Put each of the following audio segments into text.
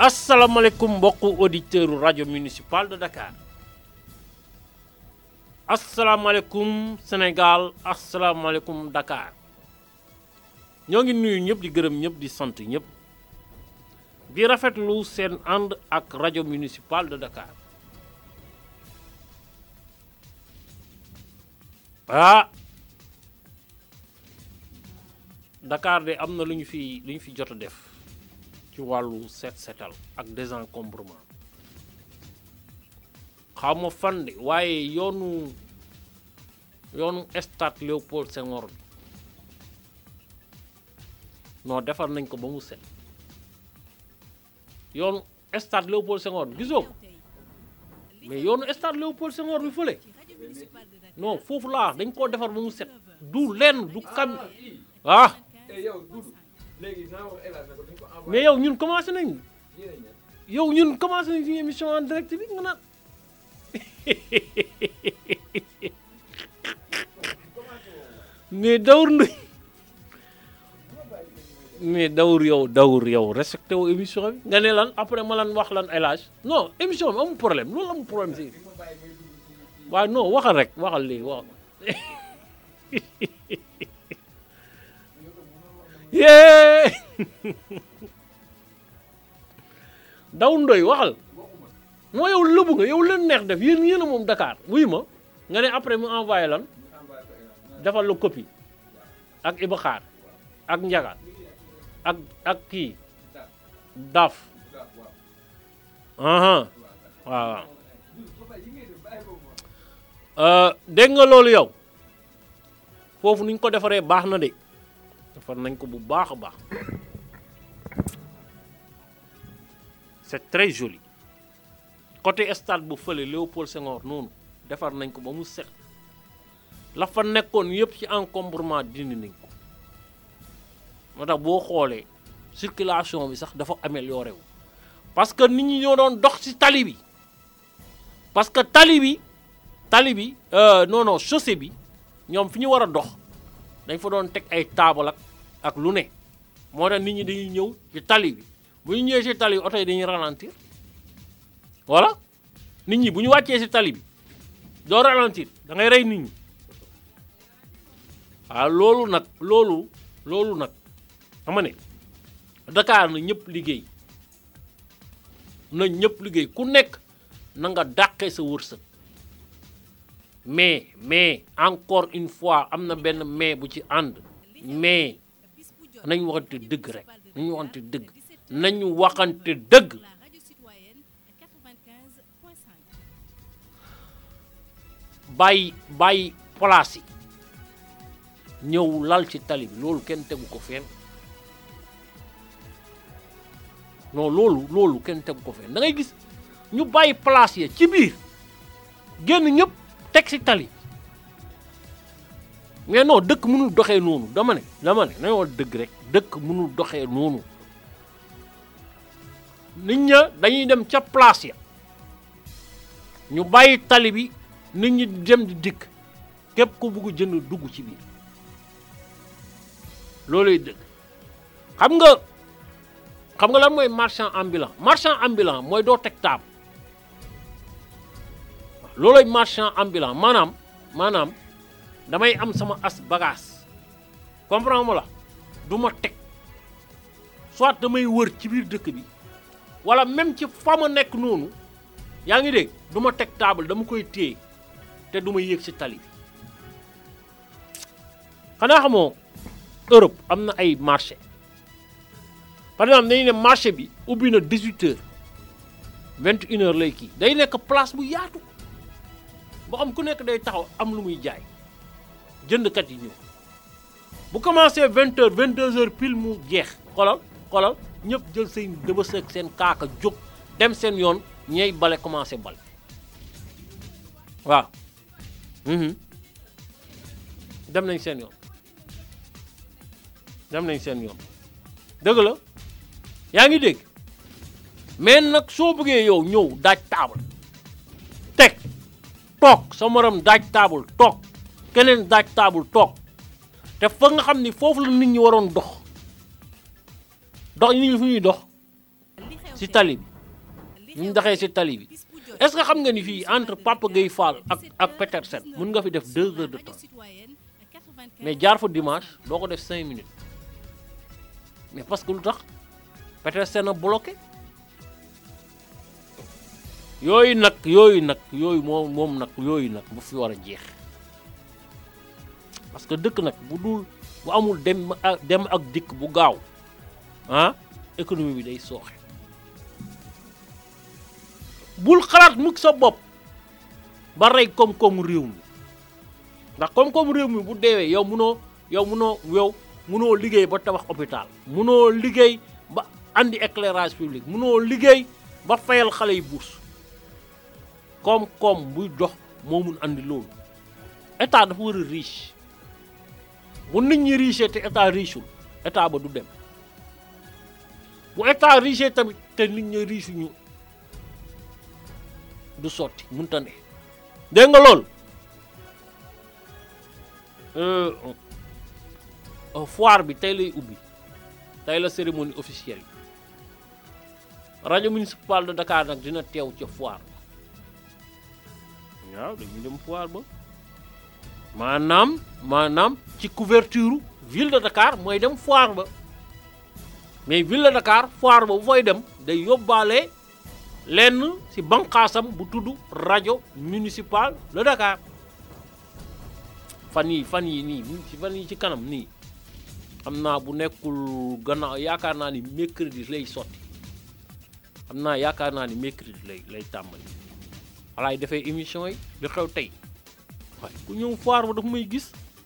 asalaamaaleykum mbokku auditeur rajo municipal de Dakar asalaamaaleykum Sénégal asalaamaaleykum Dakar ñoo ngi nuyu ñëpp di gërëm ñëpp di sant ñëpp di rafetlu seen ànd ak rajo municipal de Dakar Dakar de am na lu ñu fi jot a def ci wàllu setal ak désencombrement xaw ma fan de waaye yoonu stade Léopold Senghor bi non defar nañ ko ba mu set yoonu stade Léopold Senghor bi gisoo ko mais yoonu stade Léopold Senghor bi fële non foofu laa dañ koo defar ba mu set du lenn du kam mais yow ñun commencé nañ suñu émission en direct bi nga naan mais dawur yow respecté wu émission bi nga ne lan après ma lan wax lan élage non émission bi amul problème loolu amul problème si waaye non waxal rek waxal léegi wax yee daw ndoy waxal moo yow lëbu nga yow leen neex def yéen a moom Dakar wuy ma nga ne après mu envoyé lan defal la copie ak Iba Xaar ak Njaga ak kii Daf waaw dégg nga loolu yow foofu nuñ ko defaree baax na de defar nañ ko bu baax a baax c'est très joli côté stade bu fële Léopold Senghor noonu defar nañ ko ba mu set la fa nekkoon yëpp ci encombrement dindi nañ ko moo tax boo xoolee circulation bi sax dafa amélioré wu parce que nit ñi ñoo doon dox ci tali bi parce que tali bi chaussée bi ñoom fi ñu war a dox dañ fa doon teg ay taabal ak lu ne moo tax nit ñi dañuy ñëw ci tali bi bu ñu ñëwee ci tali bi oto yi dañuy ralentir voilà nit ñi bu ñu wàccee ci tali bi doo ralentir da ngay rey nit ñi waaw loolu nag xam ne Dakar na ñëpp liggéey ku nekk na nga dàqee sa wërsëg mais encore une fois am na benn mais bu ci ànd mais nañu waxante dëgg rek nañu waxante dëgg bàyyi place yi ñëw lal ci tali bi loolu kenn tegu ko fenn non loolu kenn tegu ko fenn da ngay gis ñu bàyyi place yi ci biir génn ñëpp teg ci tali mais non dëkk mënul doxee noonu dama ne nañoo dëgg rek dëkk mënul doxee noonu nit ña dañuy dem ca place ya ñu bàyyi tali bi nit ñi dem di dikk képp ku bugg jënd dugg ci biir looluy dëgg xam nga lan mooy marchand ambulant mooy doo teg taab looloy marchand ambulant maanaam damay am sama as bagage comprends ma la du ma teg soit damay wër ci biir dëkk bi wala même ci fa ma nekk noonu yaa ngi dégg du ma teg table dama koy téye te du ma yéeg ci tali bi xanaa xamoo Europe am na ay marché par exemple dañu ne marché bi ubbi na 18h 21h lay kii day nekk place bu yaatu boo xam ku nekk day taxaw am lu muy jaay jëndkat yi ñëw bu commencé 20h 22h pile mu jeex xoolal ñëpp jël seen dëbës ak seen kaaka jóg dem seen yoon ñey bale commencé bale waaw dem nañ seen yoon dëgg la yaa ngi dégg mais nag soo bëggee yow ñëw daaj taabal teg toog sa morom daaj taabal toog keneen daaj taabal toog te fa nga xam ni foofu la nit ñi waroon dox nit ñi fu ñuy dox ci tali bi ñu doxee ci tali bi est-ce que xam nga ni fii entre Papa Gueye Fall ak Petersen mën nga fi def 2 heures de temps mais jaar fa dimanche doo ko def 5 minutes mais parce que lu tax Petersen a bloqué yooyu nag moom nag bu fi war a jeex parce que dëkk nag bu amul dem ak dikk bu gaaw économie bi day sooxe bul xalaat mukk sa bopp ba rey koom-koomu réew mi ndax koom-koomu réew mi bu deewee yow munoo liggéey ba tabax hôpital munoo liggéey ba andi éclairage public munoo liggéey ba fayal xale yi bourse koom-koom buy dox moo mun andi loolu état dafa war a riche bu nit ñi riche te état richeul état ba du dem bu état riche tamit te nit ñi riche ñu du sotti mënta ne dégg nga loolu foire bi tey lay ubbi tey la cérémonie officielle bi rajo municipal de Dakar nag dina teew ca foire ba waaw dañu dem foire ba maanaam ci couverture ville de Dakar mooy dem foire ba mais ville de Dakar foire ba bu fay dem day yóbbaale lenn ci banqaasam bu tudd rajo municipal de Dakar fan yi ci kanam nii xam naa bu nekkul gannaaw yaakaar naa ni mercredi lay sotti yaakaar naa ni mercredi lay tàmbali walaay defee émission yi di xew tey waaye ku ñëw foire ba dafa may gis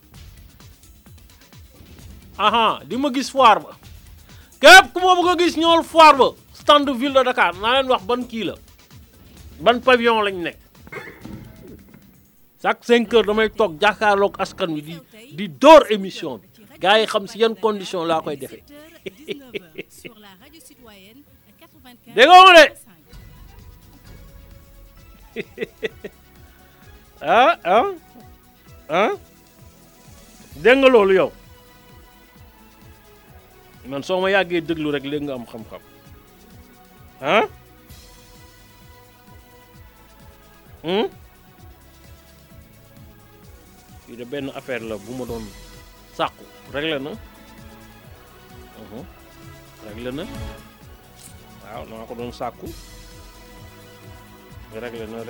di ma gis foire ba képp ku ma bëgg a gis ñëwal foire ba stand ville de Dakar naa leen wax ban kii la ban pavillon lañ nekk chaque 5 heures damay toog jàkkaarloog askan wi di door émission bi gars yi xam si yan condition laa koy defee dégg nga de dégg nga loolu yow man soo ma yàggee déglu rek léegi nga am xam-xam fii de benn affaire la bu ma doon sàkku réglé na waaw dama ko doon sàkku réglé na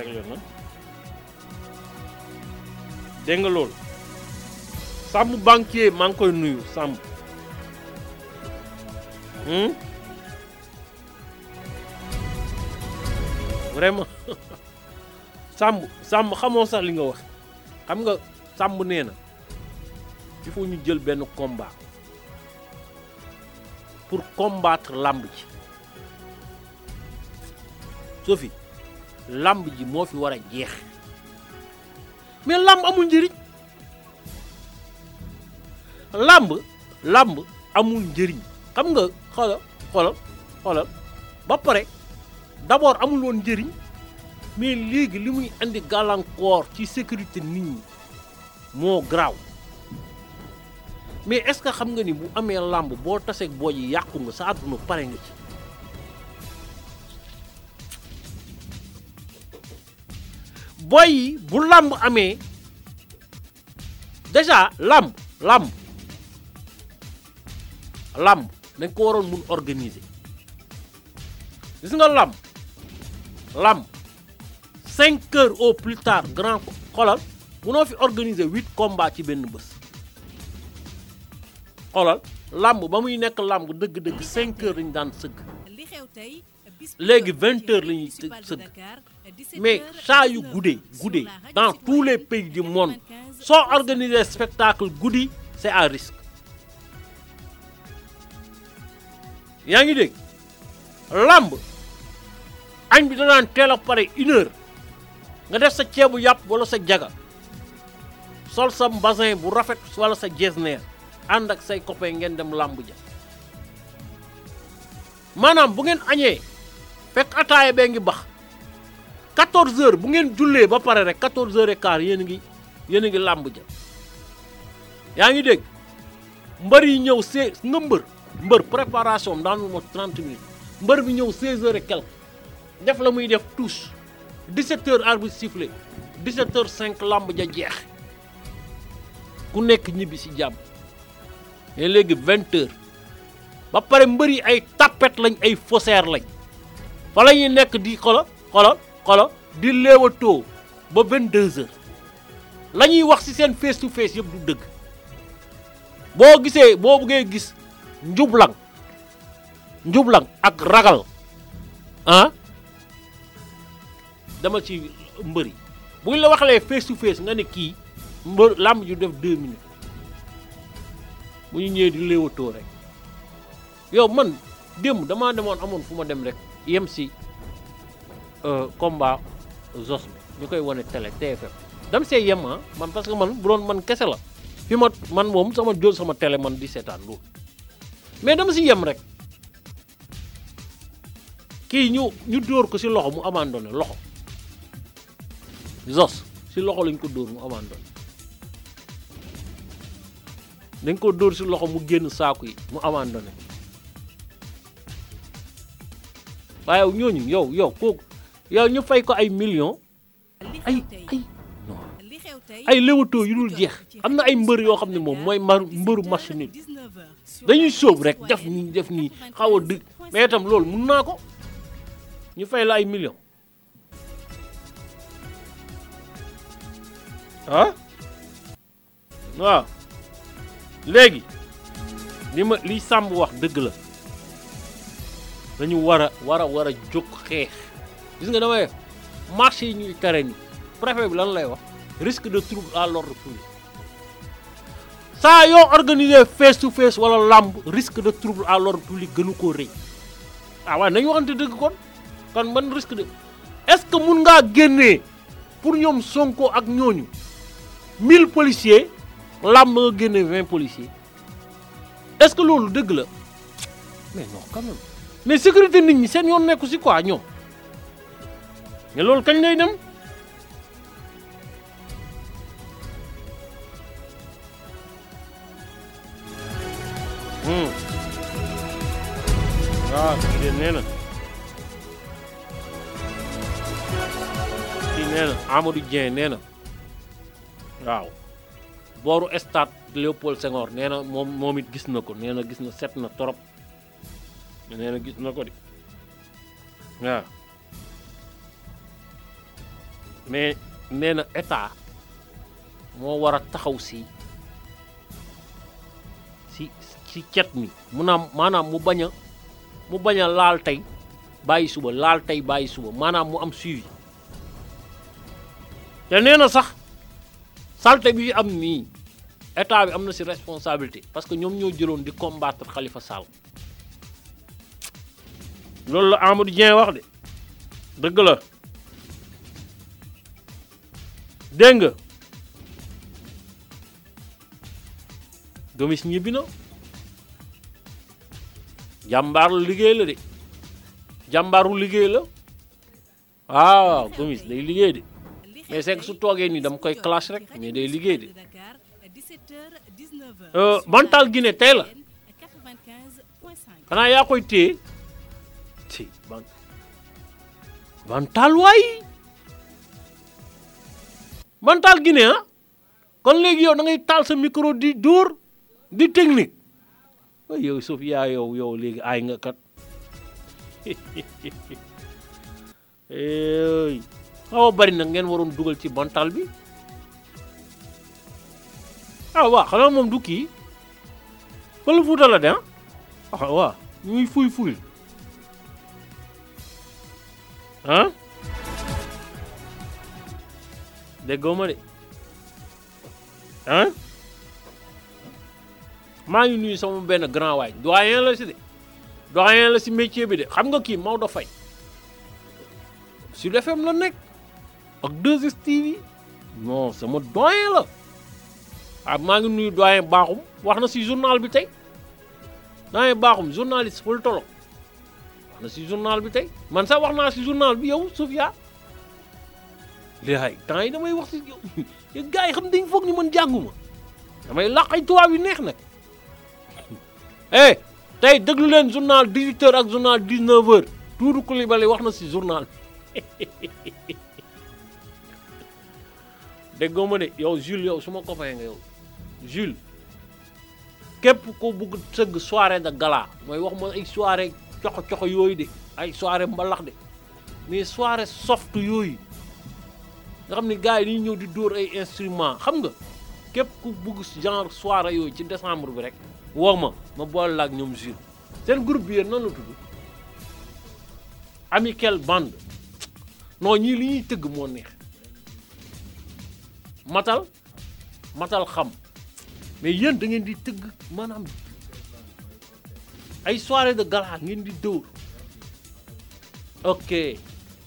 dégg nga loolu Samb banquier maa ngi koy nuyu Samb vraiment Samb xamoo sax li nga wax xam nga Samb nee na il faut ñu jël benn combat pour combattre lamb ji Sophie lamb ji moo fi war a jeex mais lamb amul njëriñ lamb amul njëriñ xam nga xoolal ba pare d'abord amul woon njëriñ mais léegi li muy andi gàllankoor ci sécurité nit ñi moo garaaw mais est-ce que xam nga ni bu amee lamb boo taseeg boo yi yàqu nga sa àdduna pare nga ci boy yi bu lamb amee déjà lamb dañ ko waroon mun organiser gis nga lamb 5 heures au plus tard grand xoolal munoo fi organiser 8 combats ci benn bés xoolal lamb ba muy nekk lamb dëgg-dëgg 5 heures lañu daan sëgg léegi 20 heures la ñuy sëgg mais saa yu guddee dans tous les pays du monde soo organiser spectacle guddi c'est à risque yaa ngi dégg lamb añ bi danaan teel a pare 1 heure nga def sa ceebu yàpp wala sa jaga sol sa mbasin bu rafet wala sa jesner ànd ak say copain ngeen dem lamb ja maanaam bu ngeen añee fekk ataaya bee ngi bax 14 heures bu ngeen jullee ba pare rek 14 heures et quart yéen a ngi lamb ja yaa ngi dégg mbër yi ñëw nga mbër préparation daanu mo 30 minutes mbër bi ñëw 16h et quelque def la muy def touche 17h arbitre sifflé 17h05 lamb ja jeex ku nekk ñibbi si jàmm mais léegi 20h ba pare mbër yi ay tapet lañ ay faussaire lañ fa la ñuy nekk di xolo di léewatoo ba 22h la ñuy wax ci seen face to face yëpp du dëgg boo bëggee gis njublang ak ragal dama ci mbëri buñ la waxalee face to face nga ne kii mbër làmb ju def 2 minutes bu ñu ñëwee di léewatoo rek yow man démb damaa demoon amoon fu ma dem rek yem si combat Zos bi ñu koy wane télé TFM dam see yem man parce que man bu doon man kese la fi man moom sama jël sama télé man di seetaan loolu mais dama si yem rek kii ñu dóor ko si loxo mu abandonné loxo Zos si loxo lañ ko dóor mu abandonné dañ ko dóor si loxo mu génn saaku yi mu abandonné waaye ñooñu yow kooku yow ñu fay ko ay millions ay léwatoo yu dul jeex am na ay mbër yoo xam ne moom mooy mbëru match nul dañuy sóob rek def nii xaw a dëgg mais itam loolu mun naa ko ñu fay la ay millions waaw léegi li Samb wax dëgg la dañu war a jóg xeex gis nga damay marché yi ñuy tere ni préfet bi lan lay wax risque de trouble à l'ordre public saa yoo organiser face to face wala lamb risque de trouble à l'ordre public gënu koo rëy waaye nañu waxante dëgg kon ban risque de est-ce que mun ngaa génnee pour ñoom Sonko ak ñooñu 1000 policiers lamb nga génnee 20 policiers est-ce que loolu dëgg la mais non quand même mais sécurité nit ñi seen yoon nekku si quoi ñoom mais loolu kañ lay dem waaw kii nee na Amadou Dieng nee na waaw booru stade Léopold Senghor nee na moom it gis na ko nee na gis na set na trop nee na gis na ko di waaw mais nee na état moo war a taxaw si cet mi maanaam mu bañ a laal tey bàyyi suba maanaam mu am suivi te nee na sax salte bi am nii état bi am na si responsabilité parce que ñoom ñoo jëloon di combattre Khalifa Sall loolu la Amadou Dieng wax de dëgg la dégg nga Gomis ñibbi na jàmbaaru liggéey la de jàmbaaru liggéey la waaw Gomis day liggéey de mais c'est que su toogee nii dama koy clash rek mais day liggéey de Bantal Guinée tey la xanaa yaa koy téye ci Bantal waay Bantal Guinée kon léegi yow da ngay taal sa micro di dóor di technique waaye yow Sofia yow léegi aay nga kat xaw a bari nag ngeen waroon dugal ci Bantal bi waaw xanaa moom du kii wala Fuuta la de waaw ñuy fuy déggoo ma de maa ngi nuyu sama benn grand waay doyen la si métier bi de xam nga kii Maodo Faye Sud FM la nekk ak 2STV non sama doyen la maa ngi nuyu doyen Bakhoum wax na si journal bi tey doyen Bakhoum journaliste politologue wax na si journal bi tey man sax wax naa si journal bi yow Sofia léegi temps yi damay wax si yow gars yi xam dañ foog ni man jànguma damay làq ay tubaab yu neex nag tey déglu leen journal 18h ak journal 19h Doudou Coulibaly wax na si journal déggoo ma de yow Jules yow suma copain nga yow Jules képp ko bugg sëgg soirée de gala mooy wax ma ay soirée coxo yooyu de ay soirée mbalax de mais soirée soft yooyu nga xam ne gars yi dañuy ñëw di dóor ay instrument xam nga képp ku bugg genre soirée yooyu ci décembre bi rek woo ma boole la ak ñoom Jules seen groupe bi yéen noonu la tudd Amical Band non ñii li ñuy tëgg moo neex matal xam mais yéen da ngeen di tëgg maanaam ay soirée de gala ngeen di dóor ok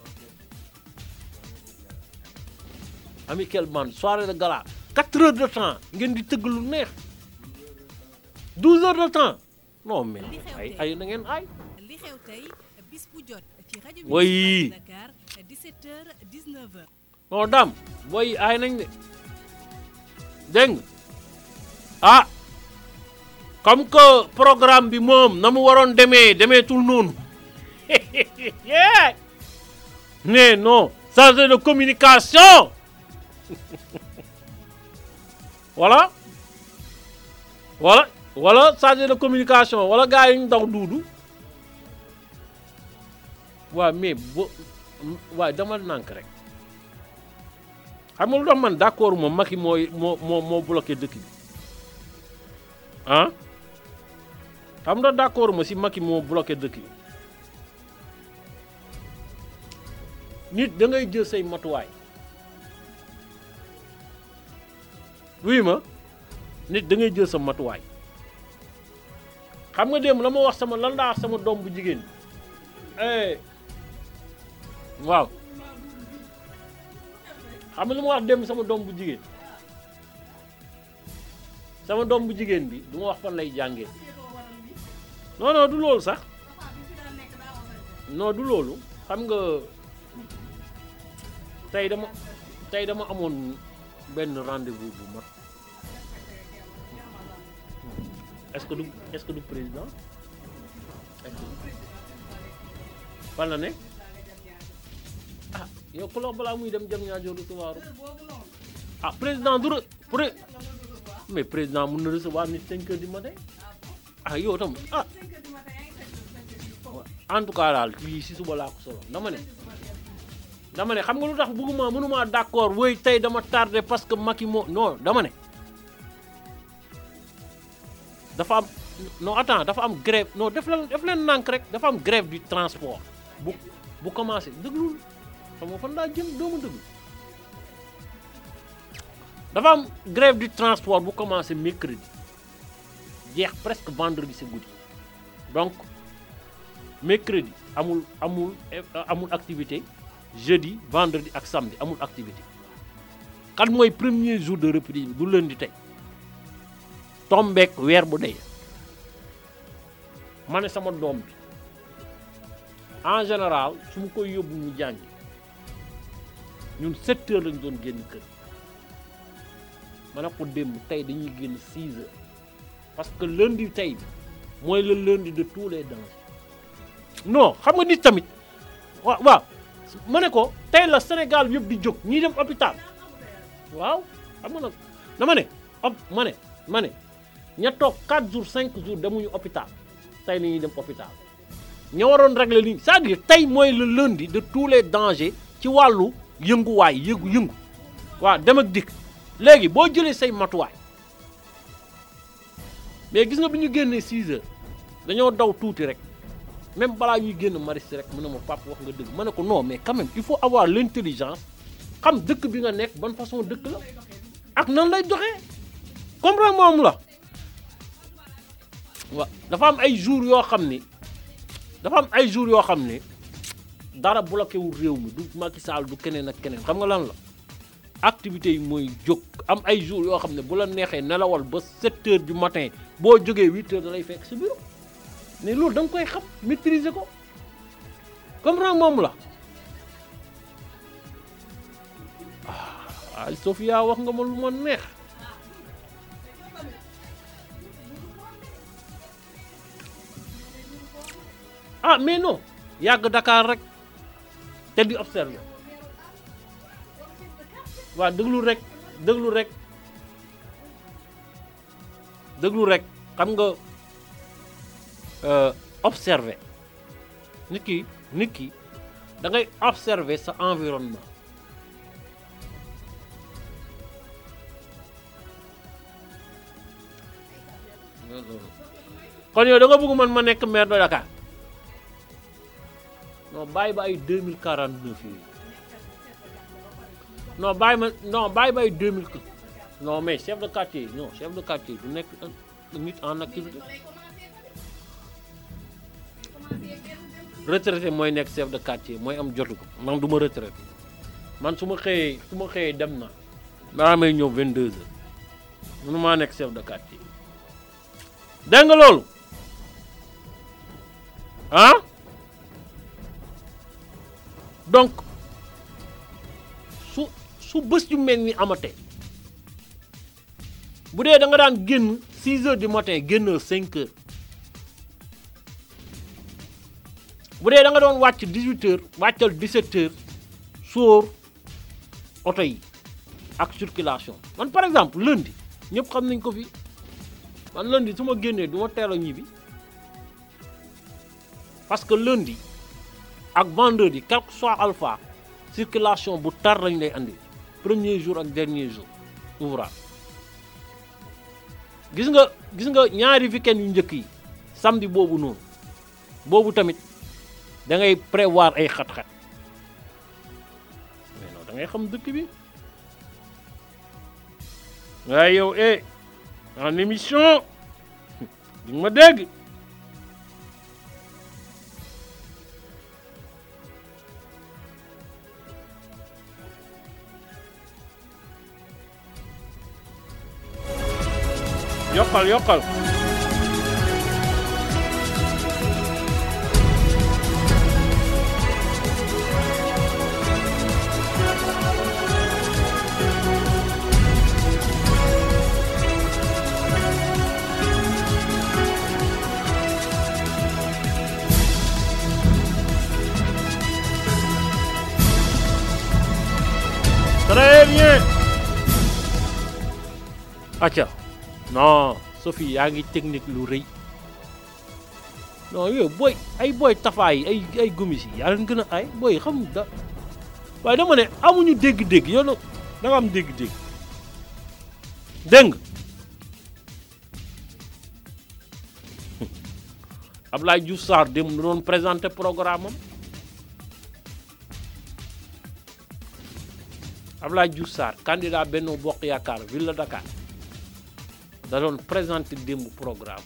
Amical Band soirée de gala 4 heures de temps ngeen di tëgg lu neex 12 heures de temps non mais ay na ngeen ay li xew tey bis bu jot ci rajo oui Dakar 17h 19h non dam boy ay nañ de dégg nga ah comme que programme bi moom na mu waroon demeetul noonu mais non chargé de communication voilà chargé de communication wala gars yi ñu daw duudu waaw mais waaw dama nànk rek xam nga lu tax man d'accord moom Macky moo bloqué dëkk bi ah xam nga d'accord ma si Macky moo bloqué dëkk bi nit da ngay jël say matuwaay oui ma nit da ngay jël sa matuwaay xam nga démb la ma wax lan laa wax sama doom bu jigéen waaw xam nga lu ma wax démb sama doom bu jigéen bi du ma wax fan lay jàngee non du loolu sax non du loolu xam nga tey dama amoon benn rendez-vous bu mat est-ce que du président fan la ne ah yow ku la balaa muy dem jam ñaajo recevoir ah président du mais président mun na recevoir nit 5 heures du matin ah yow tam ah en tout cas daal fii si suba laa ko solo dama ne xam nga lu tax mënuma d'accord woy tey dama tardé parce que Macky non dama ne dafa am grève non def leen nànk rek dafa am grève du transport bu commencé déglul xam nga fan laa jëm doomu déglu dafa am grève du transport bu commencé mercredi jeex presque vendredi c'est guddi donc mercredi amul activité jeudi vendredi ak samedi amul activité kan mooy premier jour de reprise bi du lundi tey tombeek weer bu dee ma ne sama doom bi en général su ma koy yóbbu mu jàngi ñun 7 heures lañ doon génn kër ma ne ko démb tey dañuy génn 6 heures parce que lundi tey bi mooy le lundi de tous les dangers non xam nga nit tamit waaw ma ne ko tey la Sénégal yëpp di jóg ñii dem hôpital waaw xam nga nag dama ne ma ne ña toog 4 jours 5 jours demuñu hôpital tey nañuy dem hôpital ña waroon régler li c'est-à-dire tey mooy le lundi de tous les dangers ci wàllu yënguwaay yëngu waaw dem ak dikk léegi boo jëlee say matuwaay mais gis nga bi ñu génnee 6 heures dañoo daw tuuti rek même balaa ñuy génn Maristes rek mu ne ma papa wax nga dëgg ma ne ko non mais quand même il faut avoir l'intelligence xam dëkk bi nga nekk ban façon dëkk la ak nan lay doxee comprendre moom la waaw dafa am ay jours yoo xam ni dara bloqué wul réew mi du Macky Sall du keneen ak keneen xam nga lan la activités yi mooy jóg am ay jours yoo xam ne bu la neexee nelawal ba 7 heures du matin boo jógee 8 heures da lay fekk si bureau mais loolu da nga koy xam maîtriser ko comprendre moom la ah Sofia wax nga ma lu ma neex ah mais non yàgg Dakar rek te di observer waaw déglu rek xam nga observer nit ki da ngay observer sa environnement kon yow da nga bëgg man ma nekk maire de Dakar non bàyyi ba ay 2049 yi non bàyyi ba ay 2000 non mais chef de quartier du nekk nit en activité retraité mooy nekk chef de quartier mooy am jotu ko man du ma retraité man su ma xëyee dem na daa may ñëw 22 heures mënu maa nekk chef de quartier dégg nga loolu ah donc su bés yu mel ni amatee bu dee da nga daan génn 6 heures du matin génnal 5 heures bu dee da nga doon wàcc 18 heures wàccal 17 heures sóor oto yi ak circulation man par exemple lundi ñëpp xam nañ ko fi man lundi su ma génnee du ma teel a ñibbi parce que lundi ak vendredi quel que soit alpha circulation bu tar lañ lay andi premier jour ak dernier jour ouvrable gis nga ñaari weekend yu njëkk yi samedi boobu noonu boobu tamit da ngay prévoir ay xat-xat mais non da ngay xam dëkk bi waaye yow en émission di nga ma dégg yokkal très bien acca non Sophie yaa ngi technique lu rëy non yow booy tafaay yi ay gomis yi yaa leen gën a ay booy xam da waaye dama ne amuñu dégg-dégg yow da nga am dégg-dégg dégg nga Abdoulaye Diouf Sarr dem na doon présenté programme am Abdoulaye Diouf Sarr candidat Benno Bokk Yaakaar ville de Dakar da doon présenté démb programme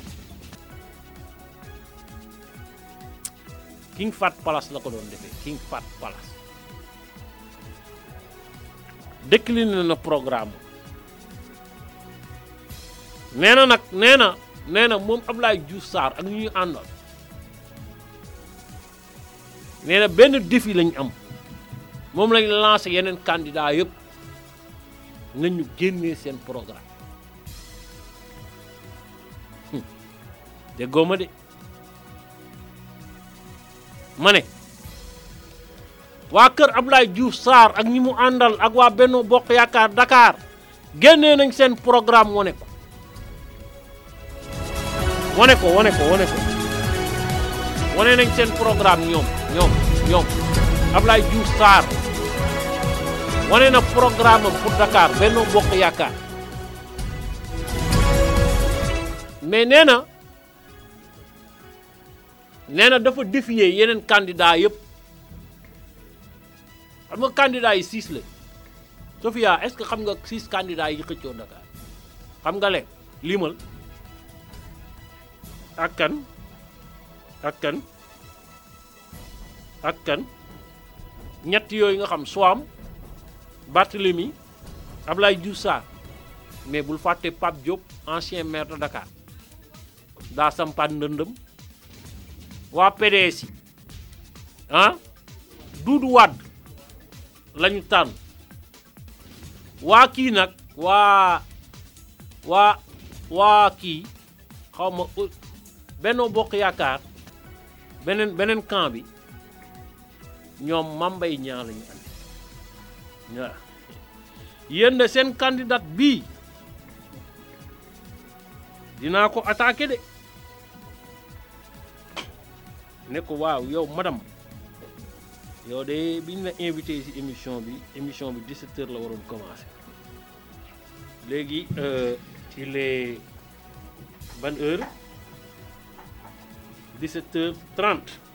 King Fahd Palace la ko doon defee King Fahd Palace décliné na programme nee na moom Abdoulaye Diouf Sarr ak ñu àndal nee na benn défi lañ am moom lañ lancé yeneen candidat yëpp nañu génnee seen programme déggoo ma de ma ne waa kër Abdoulaye Diouf Sarr ak ñi mu àndal ak waa Benno Bokk Yaakaar Dakar génnee nañ seen programme wane nañ seen programme ñoom Abdoulaye Diouf Sarr wane na programme am pour Dakar Benno Bokk Yaakaar mais nee na dafa défier yeneen candidat yëpp xam nga candidat yi 6 la Sophia est-ce que xam nga 6 candidats yi xëccoo Dakar xam nga leen limal ak kan ñett yooyu nga xam Soham Barthélemy Abdoulaye Diouf Sarr mais bul fàtte Pape Diop ancien maire de Dakar daa sampaat ndëndëm waa PDS yi Doudou Wade lañu tànn waa kii nag waa kii xaw ma Benno Bokk Yaakaar beneen camp bi ñoom Mambay ñaa lañu andi waaw yéen de seen candidat bii dinaa ko attaqué de ne ko waaw yow madame yow de biñ la invité ci émission bi 17h la waroon commencer léegi il est ban heure 17h30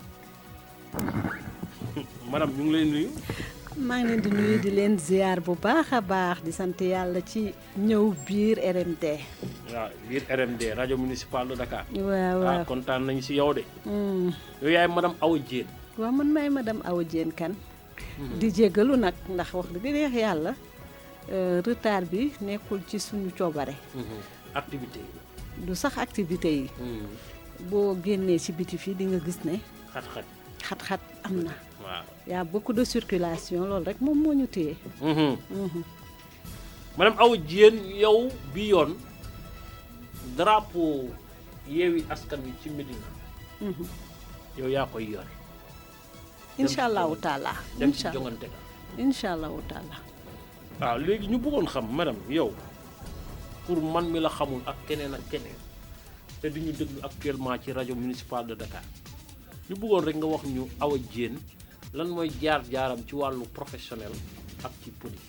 madame ñu ngi lay nuyu. maa ngi leen di nuyu di leen ziar bu baax a baax di sant yàlla ci ñëw biir RMD. waaw biir RMD rajo municipal de Dakar. waaw waaw kontaan nañu ci yow de. yow yaay madame Awa Diène. waaw man maay madame Awa Diène Kane. di jéggalu nag ndax wax dëgg neex yàlla retard bi nekkul ci suñu coobare. activité yi. du sax activité yi. boo génnee ci biti fii di nga gis ne. xat-xat am na. waaw y a beaucoup de circulation loolu rek moom moo ñu téye. madame Awa Diène yow bi yoon drapeau Yewwi Askan Wi ci Médina. yow yaa koy yore. incha allahu taala dem ci jongante ga. incha allahu taala. waaw léegi ñu bëggoon xam madame yow pour man mi la xamul ak keneen te di ñu déglu actuellement ci rajo municipal de Dakar ñu bëggoon rek nga wax ñu Awa Diène lan mooy jaar-jaaram ci wàllu professionnel ak ci politique.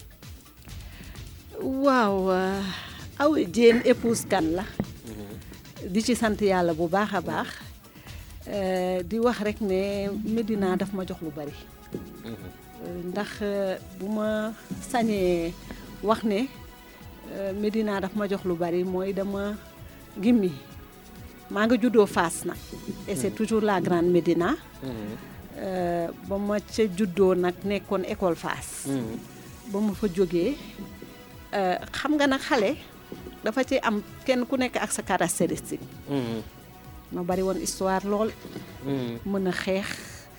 waaw Awa Diène épouse Kane la. di ci sant yàlla bu baax a baax. di wax rek ne Médina daf ma jox lu bari. ndax bu ma sañee wax ne Médina daf ma jox lu bari mooy dama gimmi maa nga juddoo Fass nag. et c'est toujours la grande Médina. ba ma ca juddoo nag nekkoon école Fass. ba ma fa jógee xam nga nag xale dafa ci am kenn ku nekk ak sa caractéristique. ma bari woon histoire lool. mën a xeex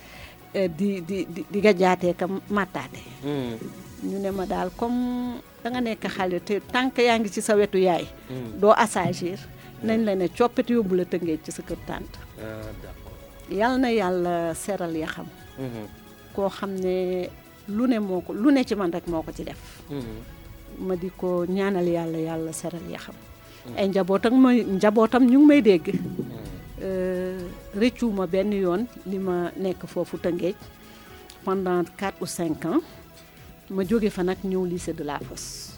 di gajaatee ka màttaate. ñu ne ma daal comme da nga nekk xale te tant que yaa ngi ci sa wetu yaay. doo assagir nañ la ne coppite yóbbu la Tëngéej ci sa kër tànt. d'accord yal na yàlla seral ya xam. koo xam ne lu ne ci man rek moo ko ci def. ma di ko ñaanal yàlla seral ya xam. ay njabootam ñu ngi may dégg. rëccuma benn yoon li ma nekk foofu Tëngéej pendant 4 ou 5 ans ma jóge fa nag ñëw lycée de la Fosse.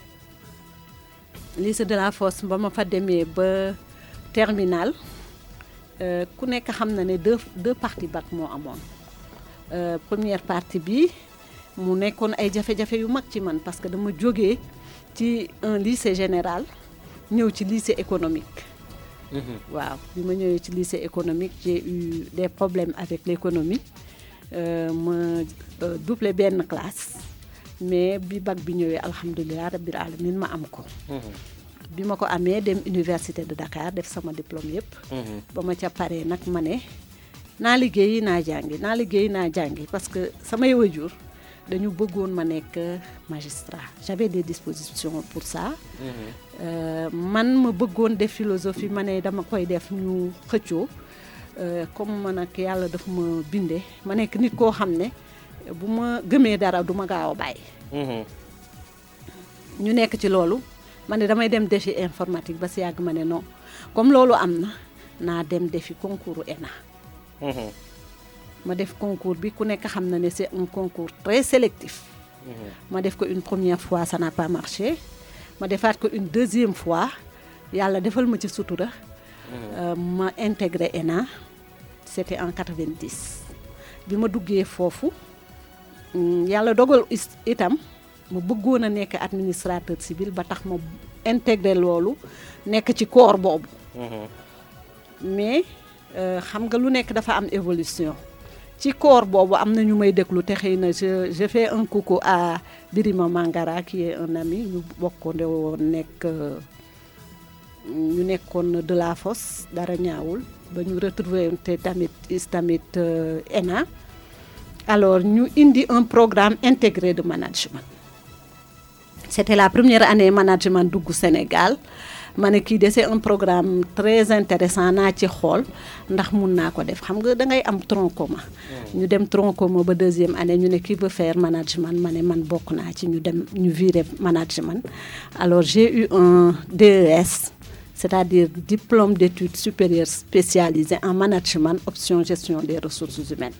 lycée de la Fosse ba ma fa demee ba terminal ku nekk xam na ne deux parties bac moo amoon. Première partie bi mu nekkoon ay jafe-jafe yu mag ci man parce que dama jógee ci un lycée général ñëw ci lycée économique. waaw bi ma ñëwee ci lycée économique j'ai eu des problèmes avec l'économie ma doublé benn classe mais bi bac bi ñëwee alhamdulilah rabbil alamin ma am ko. bi ma ko amee dem université de Dakar def sama diplôme yëpp. ba ma ca paree nag ma ne naa liggéeyi naa jàngi parce que samay waajur dañu bëggoon ma nekk magistrat j'avais des dispositions pour ça. man ma bëggoon def philosophie ma ne dama koy def ñu xëccoo comme man ak yàlla daf ma bindee ma nekk nit koo xam ne bu ma gëmee dara du ma gaaw a bàyyi. ñu nekk ci loolu ma ne damay dem defi informatique ba si yàgg ma ne non comme loolu am na naa dem defi concours ENA. ma def concours bi ku nekk xam na ne c'est un concours très sélectif. ma def ko une première fois ça n'a pas marché ma defaat ko une deuxième fois yàlla defal ma ci sutura. ma intégré ENA c'était en 90. bi ma duggee foofu yàlla dogal itam ma bëggoon a nekk administrateur civil ba tax ma intégré loolu nekk ci corps boobu. mais xam nga lu nekk dafa am évolution. ci corps boobu am na ñu may déglu te xëy na je fais un coucou à Birima Mangara qui est un ami ñu bokkoon woon ñu nekkoon de la Fosse dara ñaawul ba ñu retrouver te tamit ENA alors ñu indi un programme intégré de management. C'était la première année management dugg Sénégal ma ne kii de c'est un programme très intéressant naa ci xool ndax mun naa ko def xam nga da ngay am tronc commun. ñu dem tronc commun ba 2e année ñu ne qui veut faire management ma ne man bokk naa ci ñu dem ñu virer management. Alors j'ai eu un DES, c'est-à-dire diplôme d'études supérieures spécialisées en management option gestion des ressources humaines.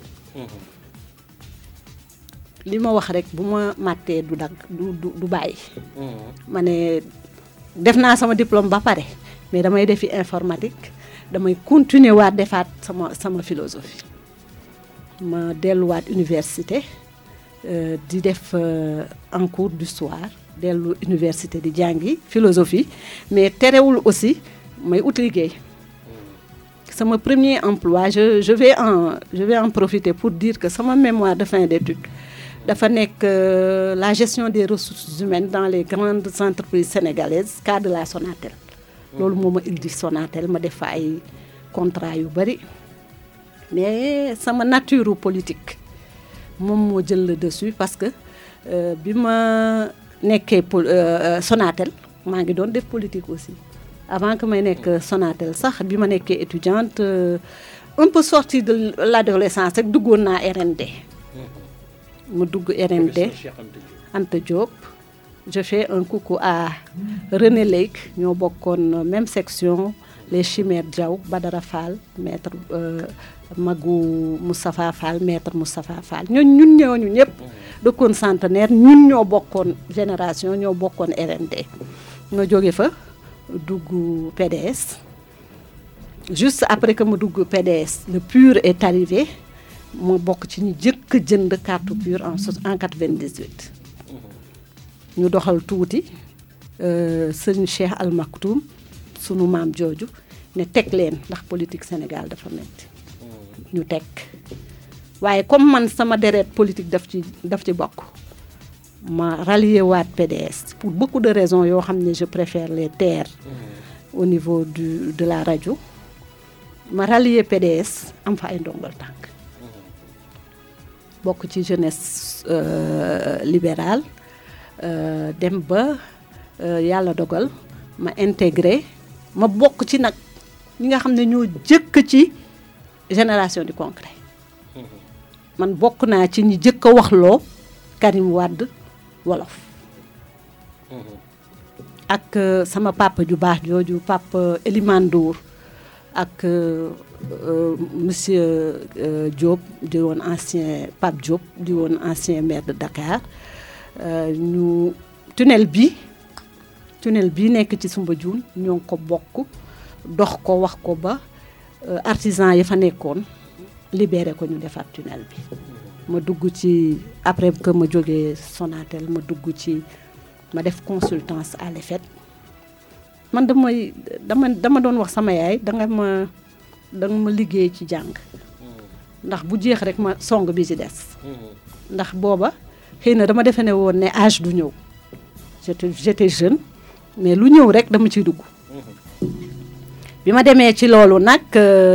li ma wax rek bu ma màttee du dagg du bàyyi. ma ne def naa sama diplôme ba pare mais damay defi informatique damay continuer waat defaat sama philosophie. ma delluwaat université di def en cours du soir dellu université di jàngi philosophie mais terewul aussi may ut liggéey. sama premier emploi je vais en profiter pour dire que sama mémoire de fin d'études dafa nekk la gestion des ressources humaines dans les grandes entreprises sénégalaises cas de la Sonatel. loolu moo ma indi Sonatel ma def fa ay contrat yu bari mais sama nature politique moom moo jël le dessus parce que bi ma nekkee Sonatel maa ngi doon def politique aussi avant que may nekk Sonatel sax bi ma nekkee étudiante un peu sortie de l'adolescence rek duggoon naa RND. mu dugg RND Anta Diop. Je fais un coucou à René Lake ñoo bokkoon même section les Chimères Diaw Badara Fall maître Magou Moustapha Fall maître Moustapha Fall ñun ñooñu ñëpp dëkkoon Centenaire ñun ñoo bokkoon génération ñoo bokkoon RND. nga jóge fa dugg PDS juste après que ma dugg PDS le PUR est arrivé mu bokk ci ñu jëkk jënd carte PUR en 98. ñu doxal tuuti sëñ Cheikh Al Maktoum sunu maam jooju ne teg leen ndax politique Sénégal dafa metti ñu teg waaye comme man sama deret politique daf ci bokk ma rallier waat PDS pour beaucoup de raisons yoo xam ne je préfère les taire au niveau de la rajo ma rallier PDS am fa ay ndongal tànk bokk ci jeunesse libérale. Dem ba yàlla dogal ma intégré ma bokk ci nag ñi nga xam ne ñoo jëkk ci génération du concret man bokk naa ci ñi jëkk a waxloo Karim Wade wolof ak sama papa ju baax jooju papa Elimane Ndour ak monsieur Diop di woon ancien Pape Diop di woon ancien maire de Dakar. ñu tunnel bi nekk ci Soumbédioune ñoo ngi ko bokk dox ko wax ko ba artisan yi fa nekkoon libéré ko ñu defar tunnel bi ma dugg ci après que ma jógee Sonatel ma dugg ci ma def consultance à l'EFET man dama doon wax sama yaay danga ma liggéey ci jàng ndax bu jeex rek ma song bi ci des ndax booba xëy na dama defe ne woon ne âge du ñëw j'étais jeune mais lu ñëw rek dama ciy dugg bi ma demee ci loolu nag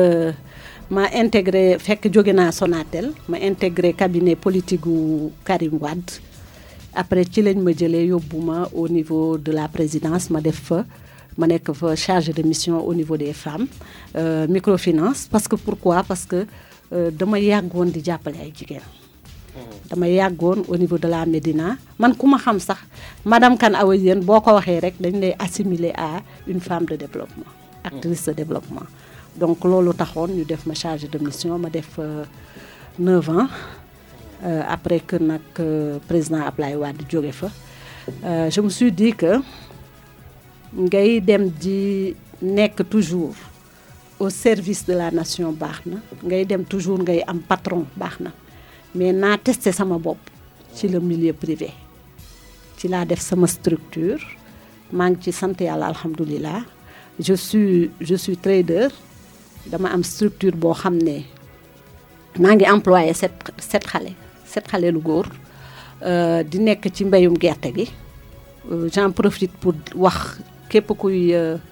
ma intégré fekk jóge naa Sonatel ma intégré cabinet politique gu Karim Wade après ci lañ ma jëlee yóbbu ma au niveau de la présidence ma nekk fa chargée de mission au niveau des femmes microfinance parce que pourquoi parce que dama yàggoon di jàppale ay jigéen dama yàggoon au niveau de la Médina man ku ma xam sax madame Kane Awa Diène boo ko waxee rek dañ lay assimiler à une femme de développement actrice de développement donc loolu taxoon ñu def ma chargée de mission ma def 9 ans après que nag président Ablaye Wade jóge fa je me suis dit que ngay dem di nekk toujours au service de la nation baax na ngay dem toujours ngay am patron baax na mais naa testé sama bopp ci le milieu privé ci laa def sama structure maa ngi ci sant yàlla alhamdulilah je suis trader dama am structure boo xam ne maa ngi employé sept xale lu góor di nekk ci mbéyum gerte gi j'en profite pour wax képp kuy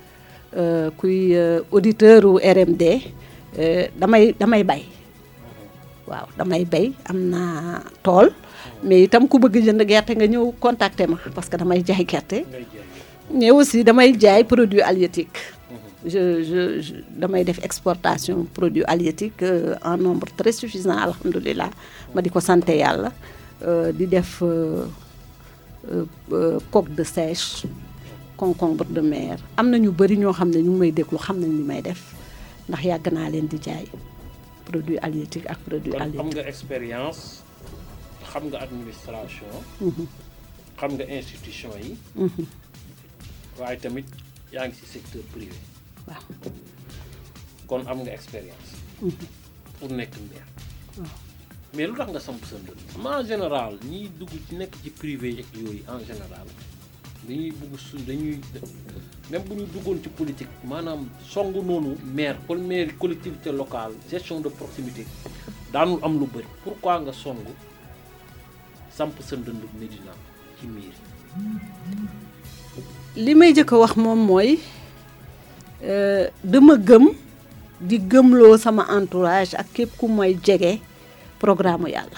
auditeur u RMD damay bay waaw damay bay am naa tool mais itam ku bëgg jënd gerte nga ñëw contacter ma parce que damay jaay gerte mais aussi damay jaay produits halieutiques. je damay def exportation produits halieutiques en nombre très suffisant alhamdulilah ma di ko sant yàlla di def coque de sèche concombre de mer am na ñu bëri ñoo xam ne ñu ngi may déglu xam nañ li may def ndax yàgg naa leen di jaay produits halieutiques ak produits halieutiques. am nga expérience xam nga administration. xam nga institution yi. waaye tamit yaa ngi ci secteur privé. waaw kon am nga expérience. pour nekk maire. mais lu tax nga samp sa ndënd. en général ñiy dugg ci nekk ci privé ak yooyu en général dañuy bugg dañuy même bu ñu duggoon ci politique maanaam songu noonu maire collectivité locale gestion de proximité daanul am lu bëri. pourquoi nga songu samp sa ndënd Médina ci mairie. li may jëkk a wax moom mooy dama gëm di gëmloo sama entourage ak képp ku may jege programme yàlla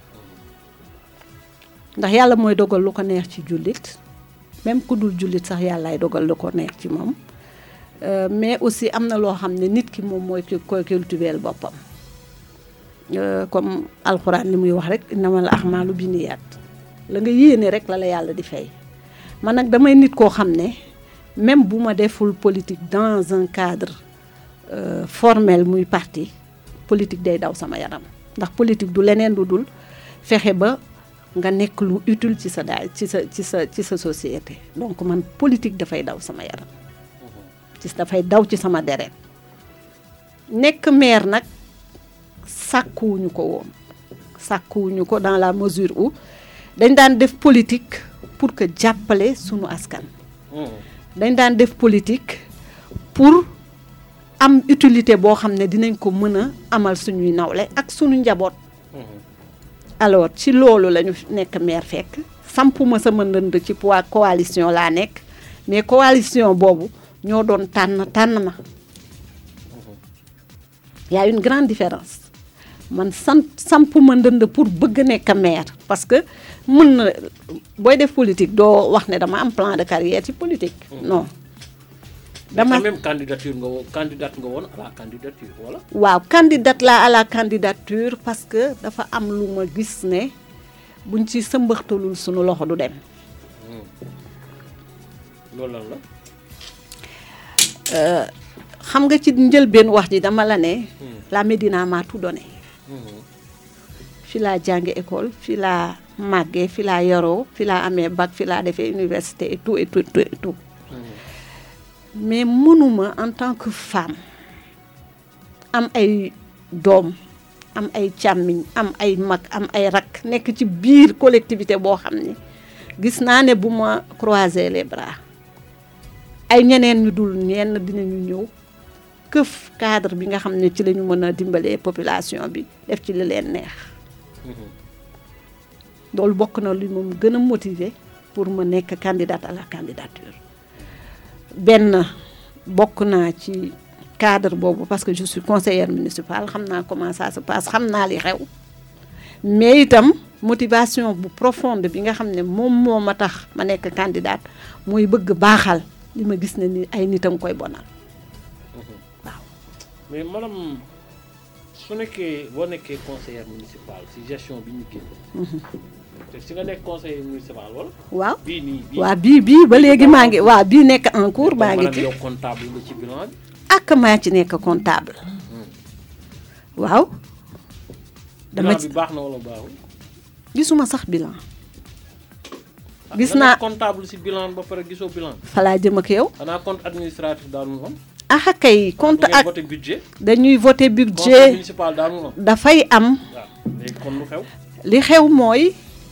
ndax yàlla mooy dogal lu ko neex ci jullit même ku dul jullit sax yàllaay dogal lu ko neex ci moom mais aussi am na loo xam ne nit ki moom mooy koy cultiver boppam comme alxuraan li muy wax rek innamal a'maalu binniyaat la nga yéene rek la yàlla di fay man nag damay nit koo xam ne même bu ma deful politique dans un cadre formel muy parti politique day daw sama yaram ndax politique du leneen lu dul fexe ba nga nekk lu utile ci sa daal ci sa société donc man politique dafay daw sama yaram dafay daw ci sama deret nekk maire nag sàkkuwuñu ko dans la mesure où dañ daan def politique pour que jàppale sunu askan dañ daan def politique pour am utilité boo xam ne dinañ ko mën a amal suñuy nawle ak suñu njaboot alors ci loolu la ñu nekk maire fekk sampuma sama ndënd ci coalition laa nekk mais coalition boobu ñoo doon tànn ma y a une grande différence man sampuma ndënd pour bëgg nekk maire parce que mën na booy def politique doo wax ne dama am plan de carrière ci politique non dama même candidate nga woon à la candidature wala. waaw candidate la à la candidature parce que dafa am lu ma gis ne buñ ci sëmbaxtalul sunu loxo du dem. loolu lan la. xam nga ci njëlbeen wax ji dama la ne. la Médina m'a tout donné. fi laa jànge école fi laa màggee fi laa yaroo fi laa amee bac fi laa defee université et tout et tout et tout. mais mënuma en tant que femme am ay doom am ay càmmiñ am ay mag am ay rak nekk ci biir collectivité boo xam ne gis naa ne bu ma croiser les bras ay ñeneen ñu dul ñenn dinañu ñëw këf cadre bi nga xam ne ci la ñu mën a dimbalee population bi def ci li leen neex loolu bokk na li moom gën a motiver pour ma nekk candidate à la candidature benn bokk naa ci cadre boobu parce que je suis conseillère municipale xam naa comment ça se passe xam naa li xew mais itam motivation bu profonde bi nga xam ne moom moo ma tax ma nekk candidate mooy bëgg baaxal li ma gis ne ni ay nitam koy bonal waaw. mais madame su nekkee boo nekkee conseillère municipale ci gestion bi ñu génn. te si nga nekk conseiller municipal wala. waaw bii nii waaw bii ba léegi maa ngi waaw bii nekk en cours maa ngi ci. yow comptable nga ci bilan bi. ak maa ci nekk comptable. waaw. dama bilan bi baax na wala baaxul. gisuma sax bilan. gis naa comptable ci bilan ba pare gisoo bilan. fa laa jëm ak yow. xanaa compte administratif daanu am. ah kay compte ak voté budget. dañuy voté budget. conseil municipal daanu am. dafay am. waaw léegi kon lu xew. li xew mooy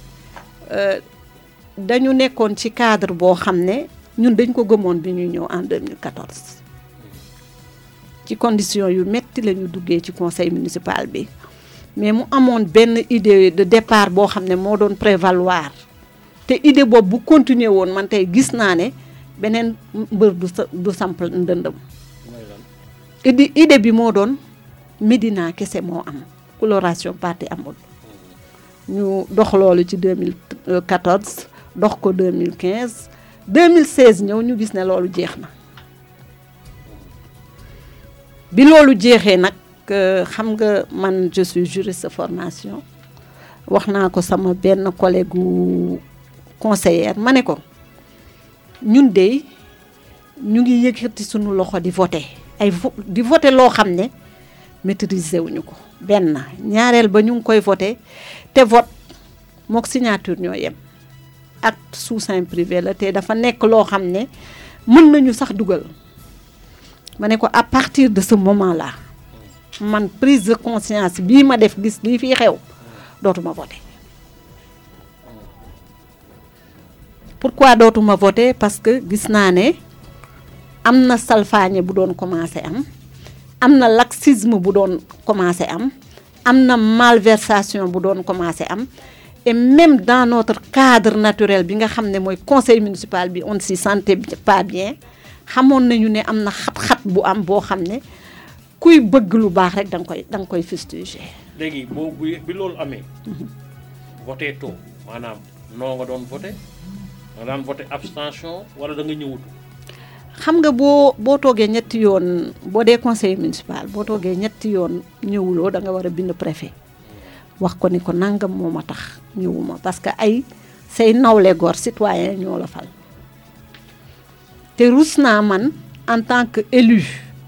dañu nekkoon ci cadre boo xam ne ñun dañ ko gëmoon bi ñuy ñëw en 2014 ci condition yu metti la ñu duggee ci conseil municipal bi mais mu amoon benn idée de départ boo xam ne moo doon prévaloir te idée boobu bu continuer woon man tey gis naa ne beneen mbër du samp ndëndëm idée bi moo doon Médina kese moo am coloration parti amul ñu dox loolu ci 2014 dox ko 2015 2016 ñëw ñu gis ne loolu jeex na bi loolu jeexee nag xam nga man je suis juriste de formation wax naa ko sama benn collègue conseillère ma ne ko ñun de ñu ngi yëkkati suñu loxo di voter di voter loo xam ne maîtriser wuñu ko benn ñaareel ba ñu ngi koy voter te vote mook signature ñoo yem acte sous seing privé la te dafa nekk loo xam ne mën nañu sax dugal ma ne ko à partir de ce moment là man prise de conscience bii ma def gis lii fii xew dootuma voter pourquoi dootuma voter parce que gis naa ne am na salfaañe bu doon commencé am na laxisme bu doon commencé am na malversation bu doon commencé am et même dans notre cadre naturel bi nga xam ne mooy conseil municipal bi on s'y sentait pas bien xamoon nañu ne am na xat-xat bu am boo xam ne kuy bëgg lu baax rek da nga koy fustiger. léegi bi loolu amee. voté too maanaam noo nga doon voté nga daan voté abstention wala da nga ñëwutu. xam nga boo toogee ñetti yoon boo dee conseil municipal boo toogee ñetti yoon ñëwuloo da nga war a bind préfet wax ko ni ko nangam moo ma tax ñëwuma parce que ay say nawle góor citoyen ñoo la fal te rus naa man en tant que élu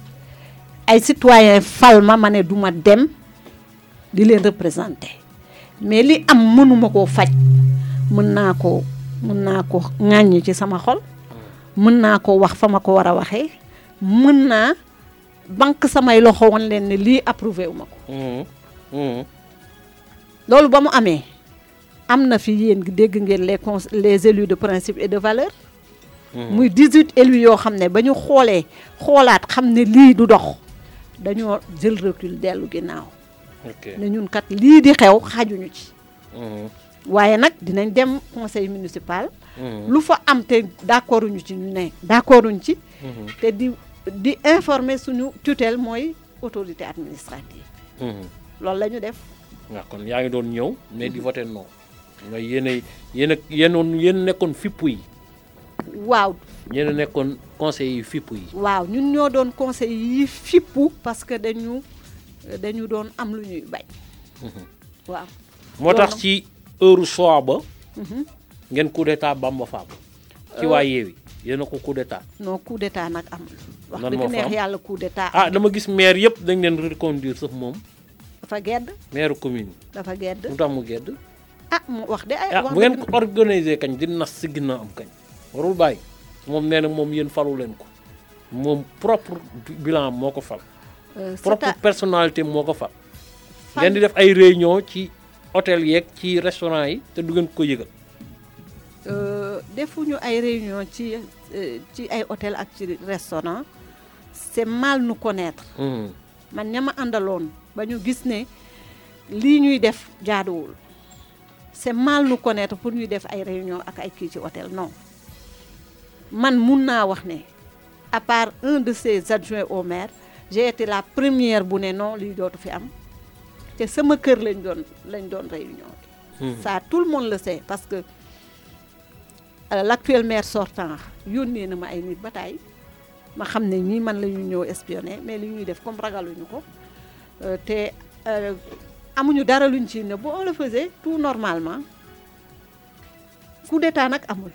ay citoyen fal ma ne duma dem di leen représenter mais li am mënuma koo faj mën naa ko ŋàññi ci sama xol mën naa ko wax fa ma ko war a waxee mën naa banque samay loxo woon leen ne lii approuvé wu ma ko loolu ba mu amee am na fi yéen dégg ngeen les élus de principe et de valeur muy 18 élus yoo xam ne ba ñu xoolaat xam ne lii du dox dañoo jël recul dellu ginnaaw ne ñun kat lii di xew xajuñu ci waaye nag dinañ dem conseil municipal lu fa am te d'accorduñu ci ñu ne d'accorduñ ci te di informer suñu tutelle mooy autorité administrative loolu la ñu def waaw kon yaa ngi doon ñëw mais di voter non nga yéen nekkoon fippu yi waaw yéen a nekkoon conseil yi fippu yi waaw ñun ñoo doon conseil yi fippu parce que dañu doon am lu ñuy bañ waaw moo tax ci heure choix ba ngeen coup d'état Bamba Fall ci waa Yewwi yéen a ko coup d'état non coup d'état nag amul wax dëgg neex yàlla coup d'état dama gis maire yëpp dañ leen reconduire sax moom dafa gedd maire commune dafa gedd mu tax mu gedd mu wax de ay wax bu ngeen ko organiser kañ di nas si ginnaaw am kañ warul bàyyi moom nee na moom yéen falu leen ko moom propre bilan moo ko fal propre personnalité moo ko fal ngeen di def ay réunion ci hôtel yeeg ci restaurant yi te du ngeen ko yëgal defuñu ay réunion ci ay hôtel ak ci restaurant c'est mal nous connaître man ña ma àndaloon ba ñu gis ne lii ñuy def jaaduwul c'est mal nous connaître pour ñuy def ay réunion ak ay kii ci hôtel non man mun naa wax ne à part un de ses adjoints au maire j'ai été la première bu ne non lii dootu fi am te sama kër lañ doon réunion ça tout le monde le sait parce que l'actuel maire sortant yónnee na ma ay nit ba tey ma xam ne ñii man la ñu ñëw espionner mais li ñuy def comme ragaluñu ko te amuñu dara luñ ci ne bu on le faisait tout normalement coup d'état nag amul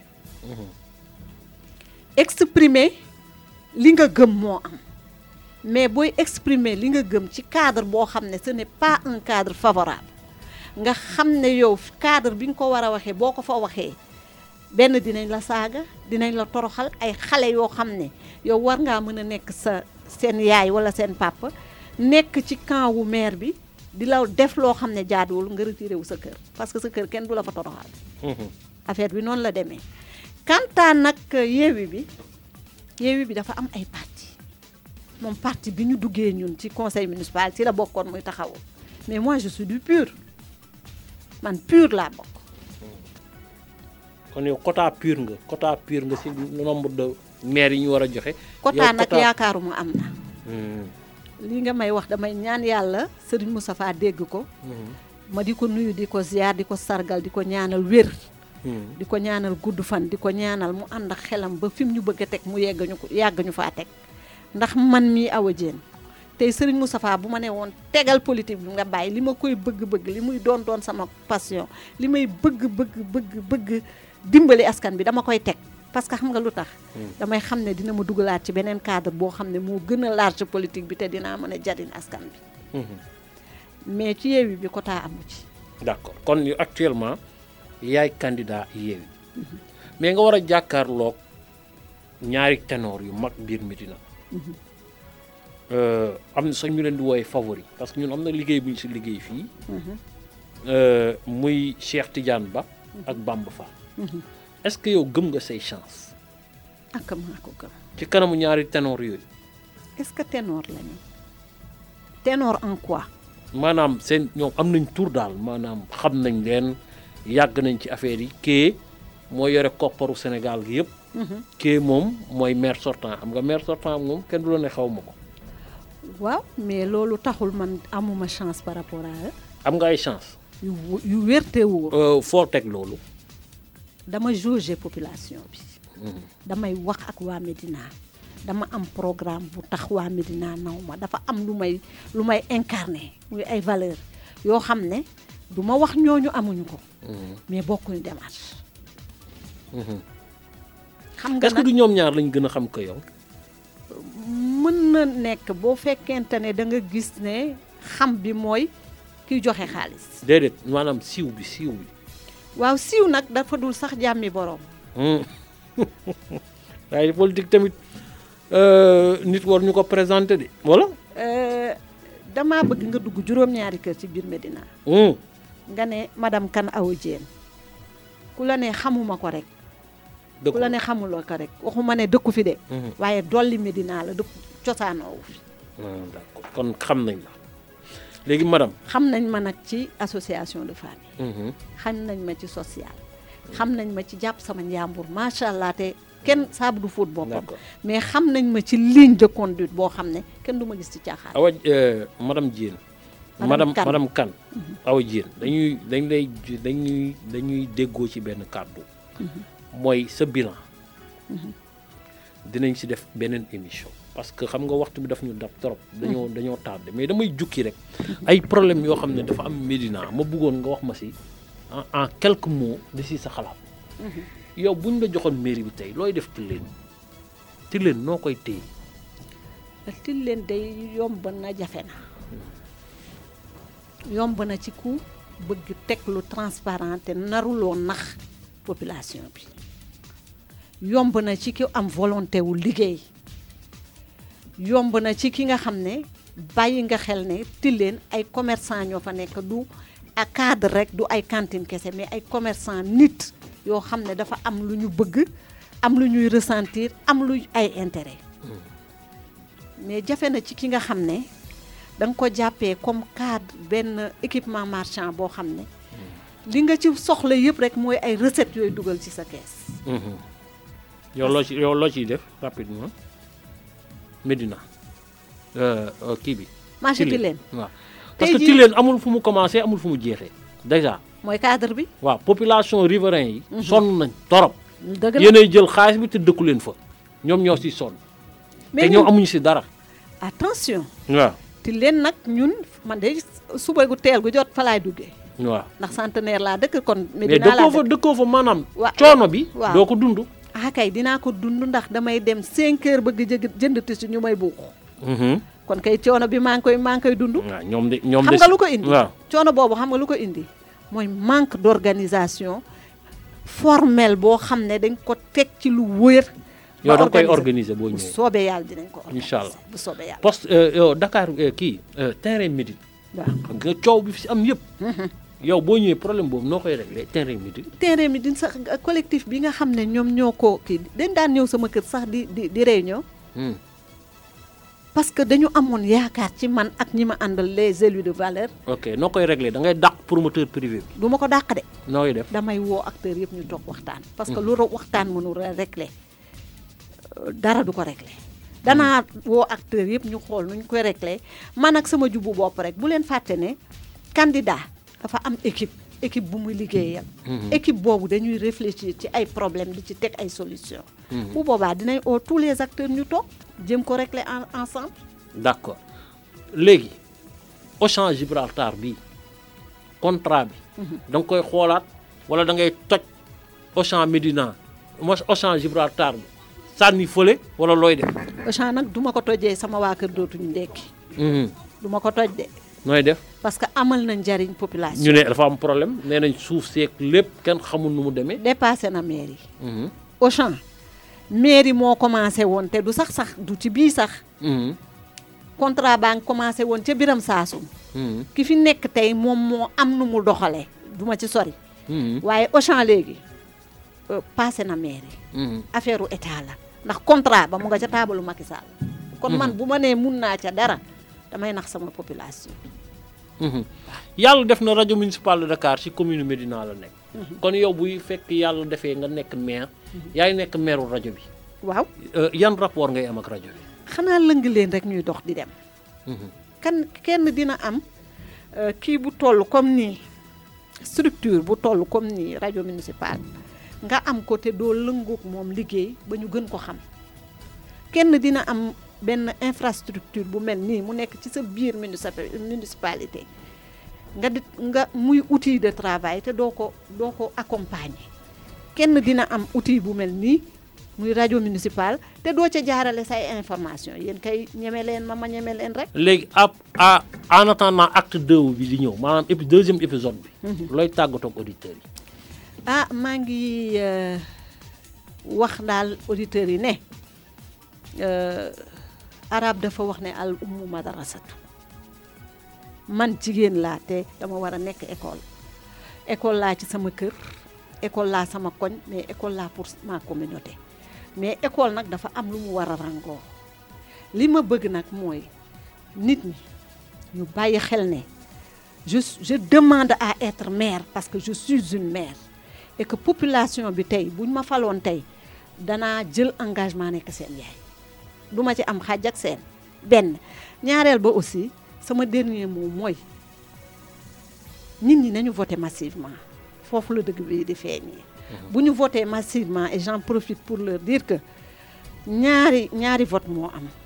exprimer li nga gëm moo am mais booy exprimer li nga gëm ci cadre boo xam ne ce n'est pas un cadre favorable nga xam ne yow cadre bi nga ko war a waxee boo ko fa waxee benn dinañ la saaga dinañ la toroxal ay xale yoo xam ne yow war ngaa mën a nekk seen yaay wala seen papa nekk ci camp wu maire bi di la def loo xam ne jaaduwul nga retiré wu sa kër parce que sa kër kenn du la fa toroxal affaire bi noonu la demee quant à nag Yewwi bi dafa am ay parti moom parti bi ñu duggee ñun ci conseil municipal ci la bokkoon muy taxawu mais moi je suis du PUR man PUR laa bokk kon yow quota pur nga ci nombre de maires yi ñu war a joxe quota nag yaakaaruma am na lii nga may wax damay ñaan yàlla Serigne Moustapha dégg ko ma di ko nuyu di ko ziar di ko sargal di ko ñaanal wér di ko ñaanal gudd fan di ko ñaanal mu ànd ak xelam ba fi mu ñu bëgg a teg mu yàgg ñu faa teg ndax man mii Awa Diène tey Serigne Moustapha bu ma ne woon tegal politique bi nga bàyyi li ma koy bëgg-bëgg li muy doon sama passion li may bëgg dimbali askan bi dama koy teg parce que xam nga lu tax damay xam ne dina ma dugalaat ci beneen cadre boo xam ne moo gën a large politique bi te dinaa mën a jariñ askan bi mais ci Yewwi bi quota amu ci. d'accord kon yu actuellement yaay candidat Yewwi mais nga war a jàkkaarloog ñaari ténor yu mag biir Médina am na sax ñu leen di wooye favori parce que ñun am na liggéey bu ñu si liggéey fii muy Cheikh Tidiane Ba ak Bamba Fall est-ce que yow gëm nga say chance ak maa ko gëm ci kanamu ñaari ténor yooyu est-ce que ténor lañu ténor en quoi maanaam seen ñoom am nañ tur daal maanaam xam nañ leen yàgg nañ ci affaire yi kee moo yore kopparu Sénégal gi yëpp kee moom mooy maire sortant xam nga maire sortant moom kenn du la ne xaw ma ko waaw mais loolu taxul man amuma chance par rapport à am nga ay chance yu wérte wóor foo teg loolu dama jauger population bi damay wax ak waa Médina dama am programme bu tax waa Médina naw ma dafa am lu may incarner muy ay valeur yoo xam ne du ma wax ñooñu amuñu ko mais bokkuñu démarche xam nga est-ce que du ñoom ñaar lañ gën a xam ko yow mën na nekk boo fekkente ne da nga gis ne xam bi mooy kiy joxe xaalis déedéet maanaam siiw bi waaw siiw nag dafa dul sax jàmmi boroom waaye politique tamit nit war ñu ko présenté de wala damaa bëgg nga dugg juróom-ñaari kër ci biir Médina nga ne madame Kane Awa Diène ku la ne xamuma ko rek ku la ne xamuloo ko rek waxuma ne dëkku fi de waaye dolli Médina la dëkk cosaanoowu fi d'accord kon xam nañ la léegi madame xam nañ ma nag ci association de famille xam nañ ma ci social xam nañ ma ci jàpp sama njàmbur macha allah te kenn saabu du fóot boppam mais xam nañ ma ci ligne de conduite boo xam ne kenn du ma gis ci caaxaan Awa madame Diène madame Kane Awa Diène dañuy déggoo ci benn kàddu mooy sa bilan dinañ si def beneen émission parce que xam nga waxtu bi daf ñu dab trop dañoo tardé mais damay jukki rek ay problème yoo xam ne dafa am Médina ma bëggoon nga wax ma si en quelques mots di si sa xalaat yow buñ la joxoon mairie bi tey looy def Tilène noo koy téye Tilène day yomb na jafe na yomb na ci ku bëgg teg lu transparent te naruloo nax population bi yomb na ci ki am volonté wu liggéey yomb na ci ki nga xam ne bàyyi nga xel ne Tilène ay commerçant ñoo fa nekk du a cadre rek du ay cantine kese mais ay commerçant nit yoo xam ne dafa am lu ñu bëgg am lu ñuy ressentir am lu ay intérêt mais jafe na ci ki nga xam ne da nga ko jàppee comme cadre benn équipement marchand boo xam ne li nga ci soxla yëpp rek mooy ay recettes yooyu dugal ci sa kees. yow loo ciy def rapidement Médina kii bi. marché Tilène waaw parce que Tilène amul fu mu commencé amul fu mu jeexee déjà. mooy cadre bi. waaw population riverain yi. sonn nañ torop. dëgg la yéenay jël xaalis bi te dëkku leen fa ñoom ñoo si sonn. te ñoom amuñu si dara. attention. waaw Tilène nag ñun man de suba gu teel gu jot fa laay duggee. waaw ndax centenaire laa dëkk kon. Médina laa dëkk mais dëkkoo fa maanaam. coono bi. waaw doo ko dund. kay dinaa ko dund ndax damay dem 5 heures bëgg jënd tissu ñu may buux. kon kay coono bi maa ngi koy dund. waaw ñoom de xam nga lu ko indi. waaw coono boobu xam nga lu ko indi. mooy manque d'organisation formelle boo xam ne dañ ko teg ci lu wër. yow da nga koy organiser boo ñëwee bu soobee yàlla dinañ ko organiser. incha allah bu soobee yàlla. poste yow Dakar terrain Médine. waaw xam nga coow bi fi am yëpp. yow boo ñëwee problème boobu noo koy réglé terrain Médine. terrain Médine sax collectif bi nga xam ne ñoom ñoo ko kii dañ daan ñëw sama kër sax di réunion. parce que dañu amoon yaakaar ci man ak ñi ma àndal les élus de valeur. ok noo koy réglé da ngay dàq promoteur privé bi. du ma ko dàq de. nooy def damay woo acteurs yëpp ñu toog waxtaan. parce que lu waxtaan mënul réglé dara du ko réglé. danaa woo acteurs yëpp ñu xool nuñ koy réglé man ak sama jubu bopp rek bu leen fàtte ne candidat dafa am équipe. équipe bu muy liggéeyal. équipe boobu dañuy réfléchir ci ay problème di ci teg ay solution bu boobaa dinañ oo tous les acteurs ñu toog jéem ko régler ensemble. d'accord léegi Auchan Gibraltar bi contrat bi da nga koy xoolaat wala da ngay toj Auchan Médina Auchan Gibraltar bi sànni fële wala looy def. Auchan nag duma ko tojee sama waa kër dootuñu ndekki duma ko toj de. nooy def. parce que amal na njariñ population. ñu ne dafa am problème nee nañ suuf seeg lépp kenn xamul nu mu demee. dépassé na mairie. Auchan mairie moo commencé woon te du sax du ci bii sax. contrat baa ngi commencé woon ca Biram Saasum. ki fi nekk tey moom moo am nu mu doxalee du ma ci sori. waaye Auchan léegi passé na mairie. affaire u état la ndax contrat ba mu nga ca taabalu Macky Sall. kon man bu ma nee mun naa ca dara damay nax sama population. yàlla def na rajo municipal de Dakar ci commune Médina la nekk. kon yow buy fekk yàlla defee nga nekk maire. yaay nekk maireu rajo bi. waaw yan rapport ngay am ak rajo bi. xanaa lëng leen rek ñuy dox di dem. kenn dina am kii bu toll comme nii structure bu toll comme nii rajo municipal nga am ko te doo lëngoog moom liggéey ba ñu gën ko xam. kenn dina am benn infrastructure bu mel nii mu nekk ci sa biir municipalité nga muy outil de travail te doo ko accompagner. kenn dina am outil bu mel nii muy rajo municipal te doo ca jaarale say information yéen kay ñeme leen ma ñeme leen rek. léegi en attendant acte 2 bi di ñëw maanaam deuxième épisode bi. looy tàggatoo ak auditeurs yi. maa ngi wax daal auditeurs yi ne arab dafa wax ne al ummu madrasatu man jigéen laa te dama war a nekk école laa ci sama kër école laa sama koñ mais école laa pour ma communauté mais école nag dafa am lu mu war a rangoo li ma bëgg nag mooy nit ñi ñu bàyyi xel ne je demande à être mère parce que je suis une mère et que population bi tey buñ ma faloon tey danaa jël engagement nekk seen yaay du ma ci am xàjj ak seen benn ñaareel ba aussi sama dernier mot mooy nit ñi nañu voté massivement foofu la dëgg bi di feeñee bu ñu voté massivement et j'en profite pour leur dire que ñaari vote moo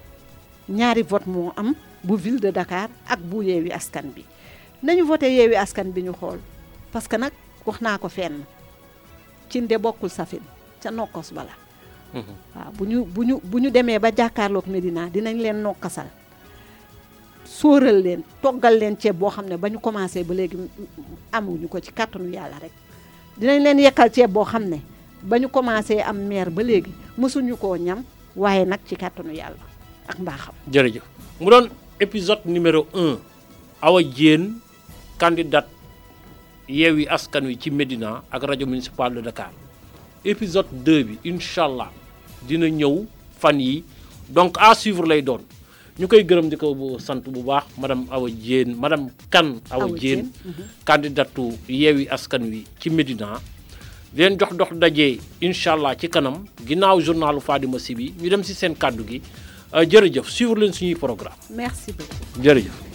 am bu ville de Dakar ak bu Yewwi Askan bi nañu voté Yewwi Askan bi ñu xool parce que nag wax naa ko fenn cinde bokkul safin ca nokkos bala waaw bu ñu demee ba jàkkaarloog Médina dinañ leen nokkasal sóoral leen toggal leen ceeb boo xam ne ba ñu commencé ba léegi amuñu ko ci kàttanu yàlla rek dinañ leen yekkal ceeb boo xam ne ba ñu commencé am maire ba léegi mësuñu koo ñam waaye nag ci kàttanu yàlla ak mbaaxam. jërëjëf mu doon épisode numéro 1 Awa Diène candidate Yewwi Askan Wi ci Médina ak rajo municipal de Dakar épisode 2 bi incha allah dina ñëw fan yi donc à suivre lay doon ñu koy gërëm di ko sant bu baax madame Awa Diène madame Kane Awa Diène candidatu Yewwi Askan Wi ci Médina di leen jox dox daje incha allah ci kanam ginnaaw journalu Fadima Sy bi ñu dem si seen kàddu gi jërëjëf suivre leen suñuy programme merci beaucoup jërëjëf